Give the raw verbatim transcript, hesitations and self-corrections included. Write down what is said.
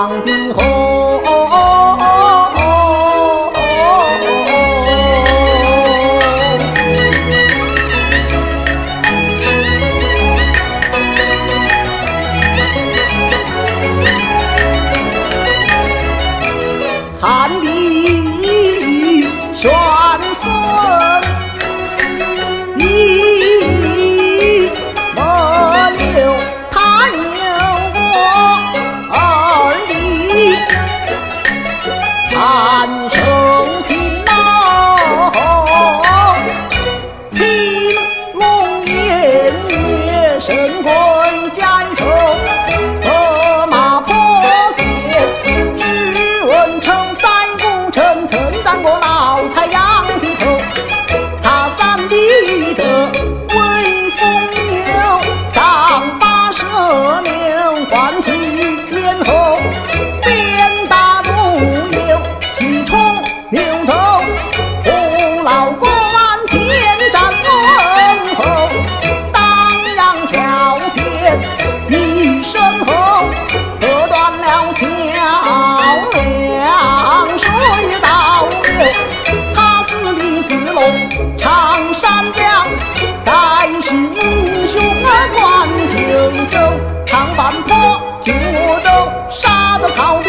长的后。汉帝玄孙一莫留，他有过二弟汉圣天道，青龙偃月神棍加一筹，策马破线知文成。曾占过老财杨的头，他三弟的威风有，丈八蛇命唤起咽喉，鞭打独有气冲牛头，红老关前站问候，当阳桥前一身后，喝断了桥梁水道。他是李子龙，常山将，盖世英雄冠九州，长坂坡九州，杀得曹